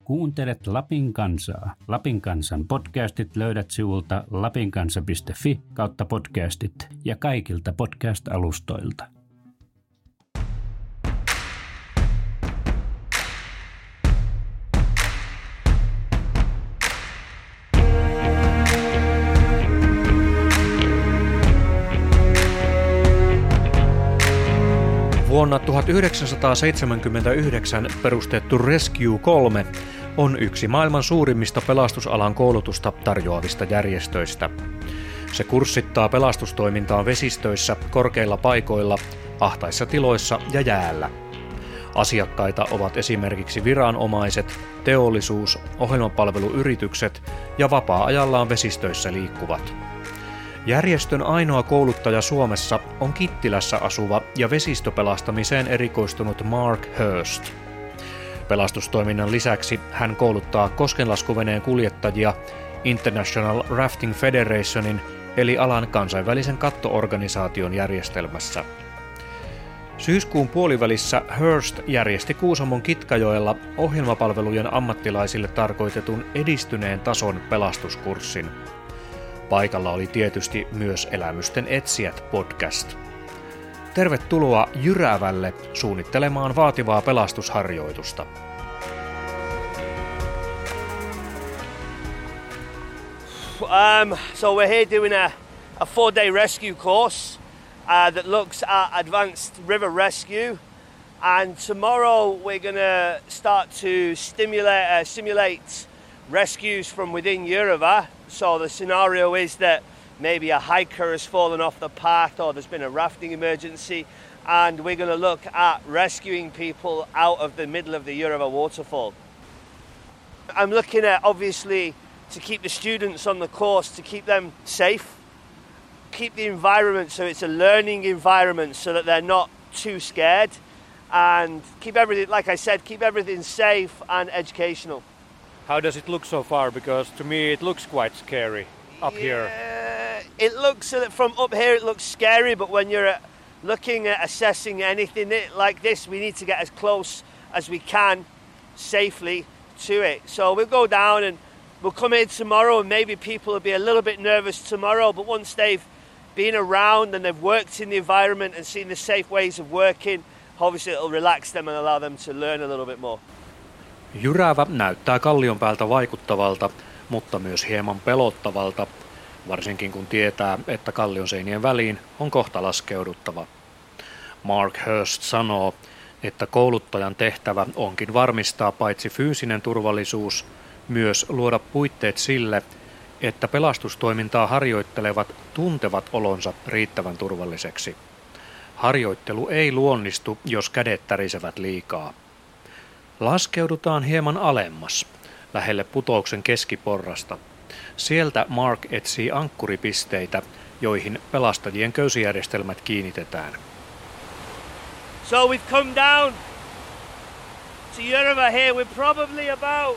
Kuuntelet Lapin kansaa. Lapin kansan podcastit löydät sivulta lapinkansa.fi/podcastit ja kaikilta podcast-alustoilta. Vuonna 1979 perustettu Rescue 3 on yksi maailman suurimmista pelastusalan koulutusta tarjoavista järjestöistä. Se kurssittaa pelastustoimintaa vesistöissä, korkeilla paikoilla, ahtaissa tiloissa ja jäällä. Asiakkaita ovat esimerkiksi viranomaiset, teollisuus, ohjelmapalveluyritykset ja vapaa-ajallaan vesistöissä liikkuvat. Järjestön ainoa kouluttaja Suomessa on Kittilässä asuva ja vesistöpelastamiseen erikoistunut Mark Hurst. Pelastustoiminnan lisäksi hän kouluttaa koskenlaskuveneen kuljettajia International Rafting Federationin eli alan kansainvälisen kattoorganisaation järjestelmässä. Syyskuun puolivälissä Hurst järjesti Kuusamon Kitkajoella ohjelmapalvelujen ammattilaisille tarkoitetun edistyneen tason pelastuskurssin. Paikalla oli tietysti myös Elämysten etsijät podcast. Tervetuloa Jyrävälle suunnittelemaan vaativaa pelastusharjoitusta. So we're here doing a 4-day rescue course that looks at advanced river rescue, and tomorrow we're going to start to simulate rescues from within Jyrävä. So the scenario is that maybe a hiker has fallen off the path or there's been a rafting emergency, and we're going to look at rescuing people out of the middle of the Jyrävä waterfall. I'm looking at, obviously, to keep the students on the course, to keep them safe, keep the environment so it's a learning environment so that they're not too scared, and keep everything, like I said, keep everything safe and educational. How does it look so far? Because to me it looks quite scary up here. It looks, from up here it looks scary, but when you're looking at assessing anything like this, we need to get as close as we can safely to it. So we'll go down and we'll come in tomorrow, and maybe people will be a little bit nervous tomorrow, but once they've been around and they've worked in the environment and seen the safe ways of working, obviously it'll relax them and allow them to learn a little bit more. Jyrävä näyttää kallion päältä vaikuttavalta, mutta myös hieman pelottavalta, varsinkin kun tietää, että kallion seinien väliin on kohta laskeuduttava. Mark Hurst sanoo, että kouluttajan tehtävä onkin varmistaa paitsi fyysinen turvallisuus, myös luoda puitteet sille, että pelastustoimintaa harjoittelevat tuntevat olonsa riittävän turvalliseksi. Harjoittelu ei luonnistu, jos kädet tärisevät liikaa. Laskeudutaan hieman alemmas, lähelle putouksen keskiporrasta. Sieltä Mark etsii ankkuripisteitä, joihin pelastajien köysijärjestelmät kiinnitetään. So we've come down to Jyrävä here. We're probably about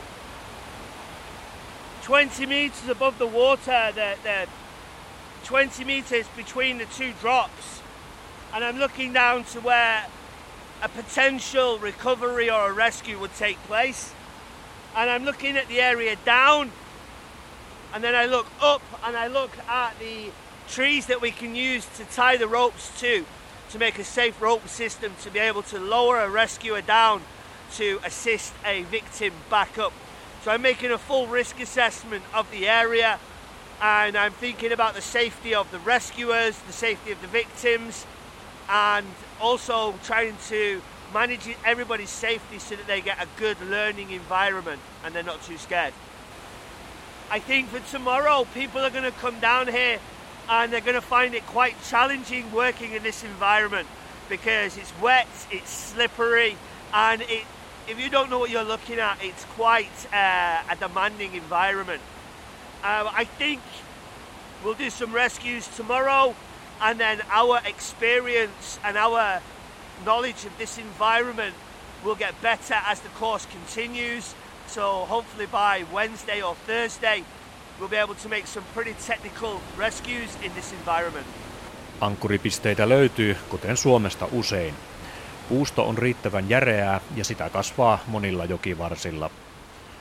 20 meters above the water. The 20 meters between the two drops. And I'm looking down to where a potential recovery or a rescue would take place, and I'm looking at the area down, and then I look up and I look at the trees that we can use to tie the ropes to make a safe rope system to be able to lower a rescuer down to assist a victim back up. So I'm making a full risk assessment of the area, and I'm thinking about the safety of the rescuers, the safety of the victims, and also trying to manage everybody's safety so that they get a good learning environment and they're not too scared. I think for tomorrow people are going to come down here and they're going to find it quite challenging working in this environment because it's wet, it's slippery, and if you don't know what you're looking at, it's quite a demanding environment. I think we'll do some rescues tomorrow, and then our experience and our knowledge of this environment will get better as the course continues. So hopefully by Wednesday or Thursday we'll be able to make some pretty technical rescues in this environment. Ankkuripisteitä löytyy, kuten Suomesta usein. Puusto on riittävän järeää ja sitä kasvaa monilla jokivarsilla.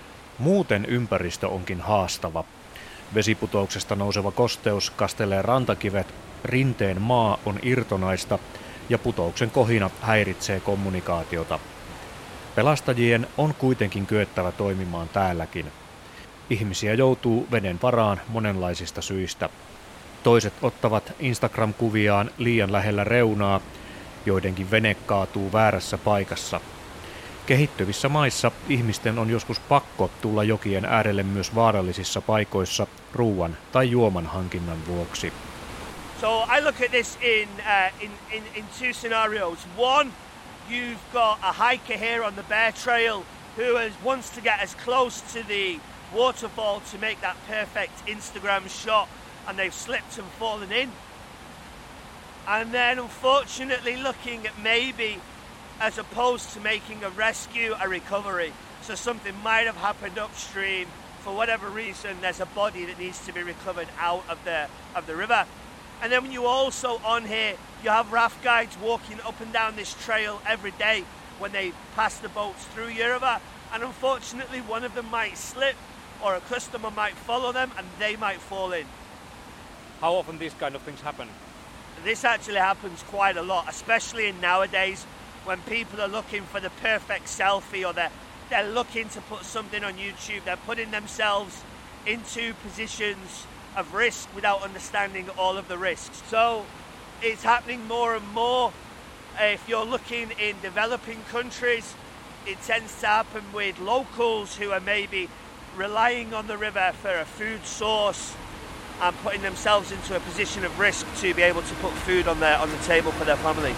Muuten ympäristö onkin haastava. Vesiputouksesta nouseva kosteus kastelee rantakivet, rinteen maa on irtonaista ja putouksen kohina häiritsee kommunikaatiota. Pelastajien on kuitenkin kyettävä toimimaan täälläkin. Ihmisiä joutuu veden varaan monenlaisista syistä. Toiset ottavat Instagram-kuviaan liian lähellä reunaa, joidenkin vene kaatuu väärässä paikassa. Kehittyvissä maissa ihmisten on joskus pakko tulla jokien äärelle myös vaarallisissa paikoissa ruuan tai juoman hankinnan vuoksi. So I look at this in two scenarios. One, you've got a hiker here on the Bear Trail who wants to get as close to the waterfall to make that perfect Instagram shot, and they've slipped and fallen in. And then unfortunately looking at maybe as opposed to making a rescue, a recovery. So something might have happened upstream. For whatever reason, there's a body that needs to be recovered out of the river. And then when you also on here, you have raft guides walking up and down this trail every day when they pass the boats through your river. And unfortunately, one of them might slip, or a customer might follow them and they might fall in. How often these kind of things happen? This actually happens quite a lot, especially in nowadays when people are looking for the perfect selfie, or they're looking to put something on YouTube. They're putting themselves into positions of risk without understanding all of the risks. So it's happening more and more. If you're looking in developing countries, it tends to happen with locals who are maybe relying on the river for a food source and putting themselves into a position of risk to be able to put food on the table for their family.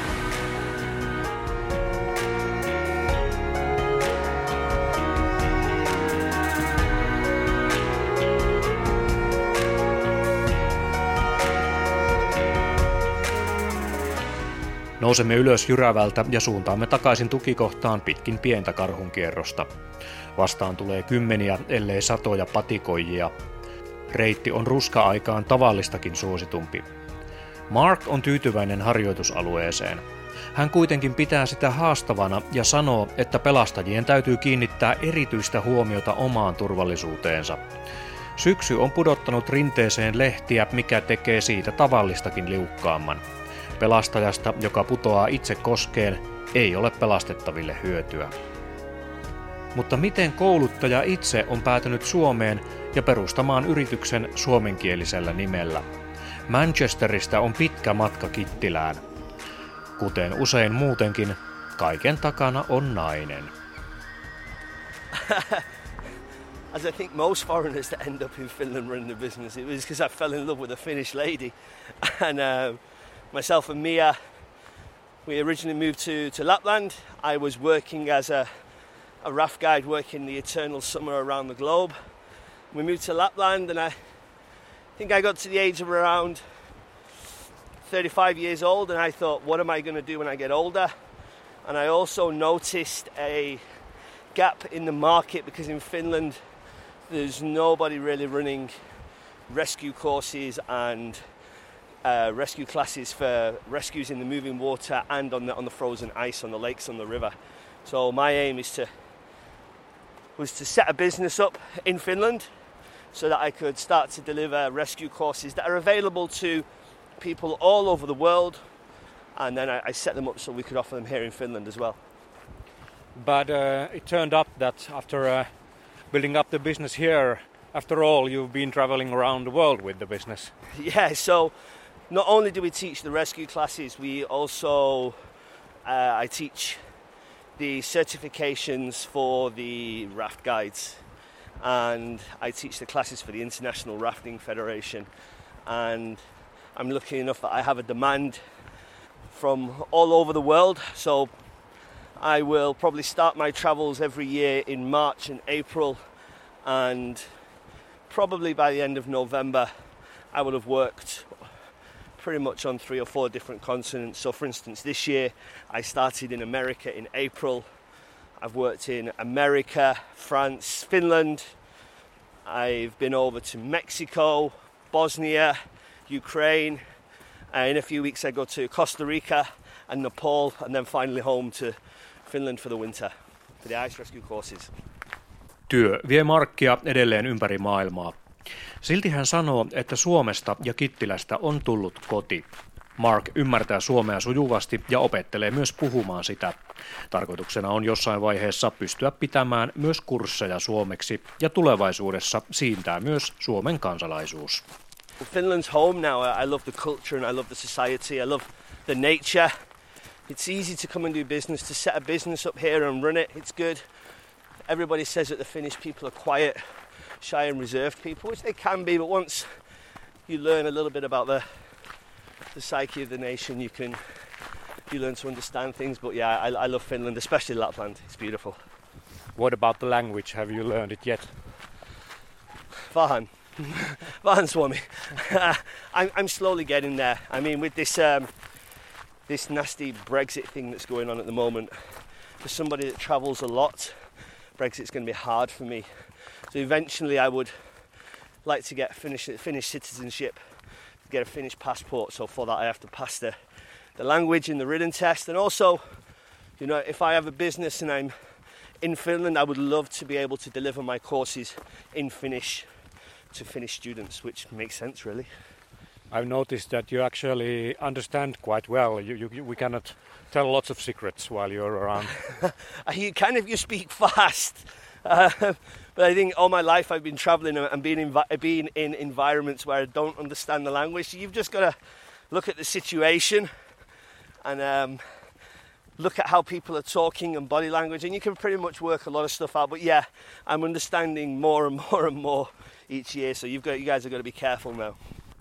Nousemme ylös jyrävältä ja suuntaamme takaisin tukikohtaan pitkin pientä karhunkierrosta. Vastaan tulee kymmeniä, ellei satoja patikoijia. Reitti on ruska-aikaan tavallistakin suositumpi. Mark on tyytyväinen harjoitusalueeseen. Hän kuitenkin pitää sitä haastavana ja sanoo, että pelastajien täytyy kiinnittää erityistä huomiota omaan turvallisuuteensa. Syksy on pudottanut rinteeseen lehtiä, mikä tekee siitä tavallistakin liukkaamman. Pelastajasta, joka putoaa itse koskeen, ei ole pelastettaville hyötyä. Mutta miten kouluttaja itse on päätynyt Suomeen ja perustamaan yrityksen suomenkielisellä nimellä? Manchesterista on pitkä matka Kittilään. Kuten usein muutenkin, kaiken takana on nainen. As I think most foreigners that end up in Finland running a business, it was because I fell in love with a Finnish lady. And myself and Mia, we originally moved to Lapland. I was working as a raft guide working the eternal summer around the globe. We moved to Lapland, and I think I got to the age of around 35 years old, and I thought, what am I going to do when I get older? And I also noticed a gap in the market because in Finland there's nobody really running rescue courses and rescue classes for rescues in the moving water and on the frozen ice on the lakes, on the river. So my aim was to set a business up in Finland so that I could start to deliver rescue courses that are available to people all over the world, and then I set them up so we could offer them here in Finland as well. But it turned up that after building up the business here, after all, you've been traveling around the world with the business. Yeah, so not only do we teach the rescue classes, we also I teach the certifications for the raft guides, and I teach the classes for the International Rafting Federation, and I'm lucky enough that I have a demand from all over the world, so I will probably start my travels every year in March and April, and probably by the end of November I will have worked pretty much on 3 or 4 different continents. So for instance, this year I started in America in April. I've worked in America, France, Finland. I've been over to Mexico, Bosnia, Ukraine. In a few weeks I go to Costa Rica and Nepal, and then finally home to Finland for the winter, for the ice rescue courses. Työ vie Markia edelleen ympäri maailmaa. Silti hän sanoo, että Suomesta ja Kittilästä on tullut koti. Mark ymmärtää suomea sujuvasti ja opettelee myös puhumaan sitä. Tarkoituksena on jossain vaiheessa pystyä pitämään myös kursseja suomeksi ja tulevaisuudessa siintää myös Suomen kansalaisuus. Finland's home now. I love the culture and I love the society. I love the nature. It's easy to come and do business, to set a business up here and run it. It's good. Everybody says that the Finnish people are quiet, shy and reserved people, which they can be, but once you learn a little bit about the psyche of the nation, you learn to understand things. But yeah, I love Finland, especially Lapland. It's beautiful. What about the language? Have you learned it yet? Vähän Suomi. I'm slowly getting there. I mean, with this nasty Brexit thing that's going on at the moment, for somebody that travels a lot, Brexit's going to be hard for me. So eventually I would like to get Finnish citizenship, get a Finnish passport. So for that I have to pass the language and the written test. And also, you know, if I have a business and I'm in Finland, I would love to be able to deliver my courses in Finnish to Finnish students, which makes sense really. I've noticed that you actually understand quite well. We cannot tell lots of secrets while you're around. You can if you speak fast. But I think all my life I've been travelling and being in environments where I don't understand the language. So you've just got to look at the situation and look at how people are talking and body language, and you can pretty much work a lot of stuff out. But yeah, I'm understanding more and more and more each year. So you guys are going to be careful now.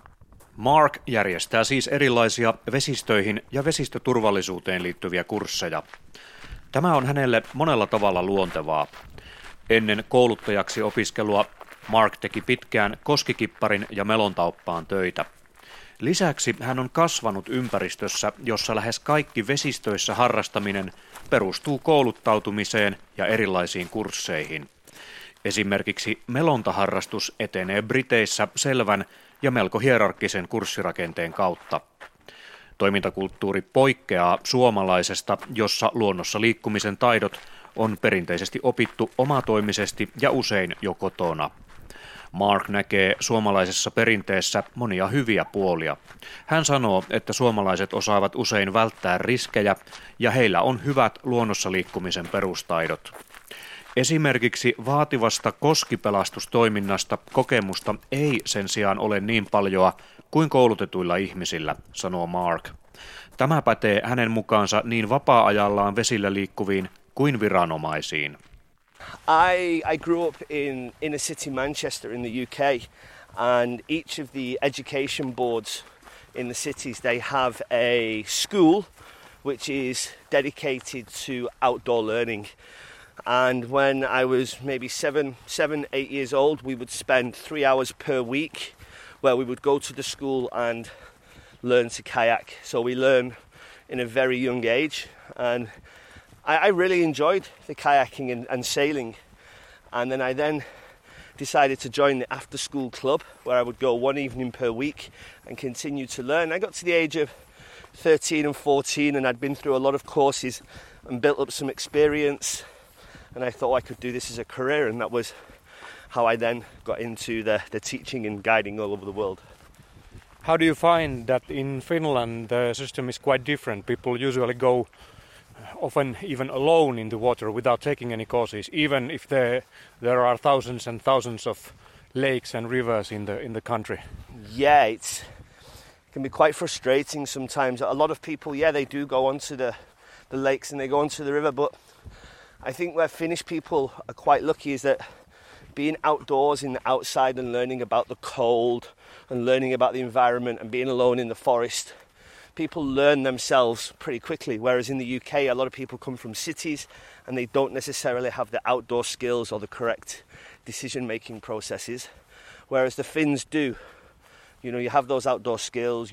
Mark järjestää siis erilaisia vesistöihin ja vesistöturvallisuuteen liittyviä kursseja. Tämä on hänelle monella tavalla luontevaa. Ennen kouluttajaksi opiskelua Mark teki pitkään koskikipparin ja melontauppaan töitä. Lisäksi hän on kasvanut ympäristössä, jossa lähes kaikki vesistöissä harrastaminen perustuu kouluttautumiseen ja erilaisiin kursseihin. Esimerkiksi melontaharrastus etenee Briteissä selvän ja melko hierarkkisen kurssirakenteen kautta. Toimintakulttuuri poikkeaa suomalaisesta, jossa luonnossa liikkumisen taidot on perinteisesti opittu omatoimisesti ja usein jo kotona. Mark näkee suomalaisessa perinteessä monia hyviä puolia. Hän sanoo, että suomalaiset osaavat usein välttää riskejä ja heillä on hyvät luonnossa liikkumisen perustaidot. Esimerkiksi vaativasta koskipelastustoiminnasta kokemusta ei sen sijaan ole niin paljoa kuin koulutetuilla ihmisillä, sanoo Mark. Tämä pätee hänen mukaansa niin vapaa-ajallaan vesillä liikkuviin kuin viranomaisiin. I grew up in a city, Manchester, in the UK, and each of the education boards in the cities, they have a school which is dedicated to outdoor learning. And when I was maybe 8 years old, we would spend 3 hours per week where we would go to the school and learn to kayak. So we learn in a very young age, and I really enjoyed the kayaking and sailing. And then I decided to join the after school club where I would go one evening per week and continue to learn. I got to the age of 13 and 14 and I'd been through a lot of courses and built up some experience, and I thought I could do this as a career, and that was how I then got into the teaching and guiding all over the world. How do you find that in Finland the system is quite different? People usually go often even alone in the water without taking any courses, even if there are thousands and thousands of lakes and rivers in the country. Yeah, it can be quite frustrating sometimes. A lot of people, they do go onto the lakes and they go onto the river, but I think where Finnish people are quite lucky is that being outdoors in the outside and learning about the cold and learning about the environment and being alone in the forest, people learn themselves pretty quickly. Whereas in the UK, a lot of people come from cities and they don't necessarily have the outdoor skills or the correct decision-making processes, whereas the Finns do. You know, you have those outdoor skills,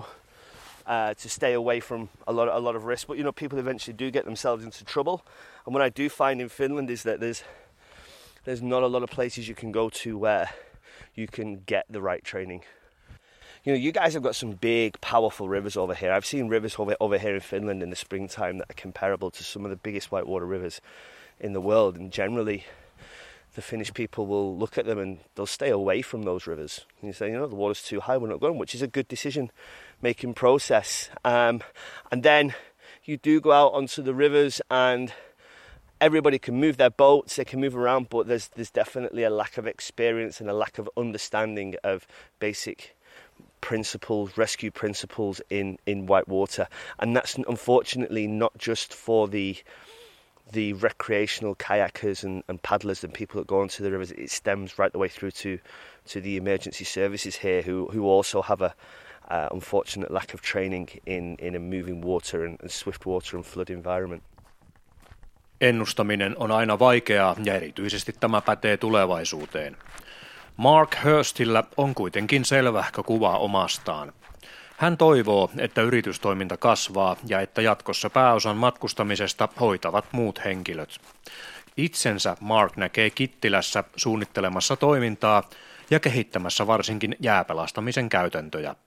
to stay away from a lot of risk, but people eventually do get themselves into trouble. And what I do find in Finland is that there's not a lot of places you can go to where you can get the right training. You guys have got some big, powerful rivers over here. I've seen rivers over here in Finland in the springtime that are comparable to some of the biggest whitewater rivers in the world. And generally, the Finnish people will look at them and they'll stay away from those rivers. And you say, the water's too high, we're not going, which is a good decision-making process. And then you do go out onto the rivers and everybody can move their boats, they can move around, but there's definitely a lack of experience and a lack of understanding of basic principles, rescue principles in whitewater. And that's unfortunately not just for the recreational kayakers and paddlers and people that go onto the rivers. It stems right the way through to the emergency services here, who also have a unfortunate lack of training in a moving water and swift water and flood environment. Ennustaminen on aina vaikeaa ja erityisesti tämä pätee tulevaisuuteen. Mark Hurstillä on kuitenkin selvähkö kuva omastaan. Hän toivoo, että yritystoiminta kasvaa ja että jatkossa pääosan matkustamisesta hoitavat muut henkilöt. Itsensä Mark näkee Kittilässä suunnittelemassa toimintaa ja kehittämässä varsinkin jääpelastamisen käytäntöjä.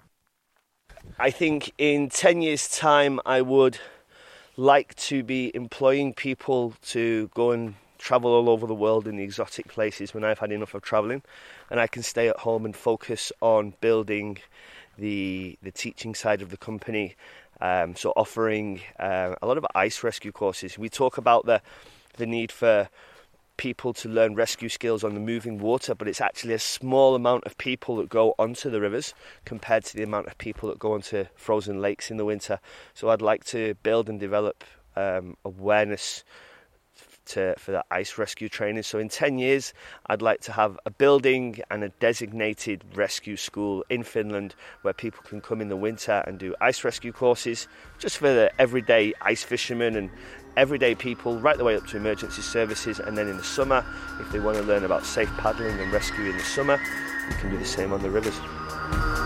I think in 10 years' time I would like to be employing people to go and travel all over the world in the exotic places when I've had enough of travelling, and I can stay at home and focus on building the teaching side of the company, so offering a lot of ice rescue courses. We talk about the need for people to learn rescue skills on the moving water, but it's actually a small amount of people that go onto the rivers compared to the amount of people that go onto frozen lakes in the winter. So I'd like to build and develop awareness for the ice rescue training. So in 10 years, I'd like to have a building and a designated rescue school in Finland where people can come in the winter and do ice rescue courses just for the everyday ice fishermen and everyday people right the way up to emergency services. And then in the summer, if they want to learn about safe paddling and rescue in the summer, you can do the same on the rivers.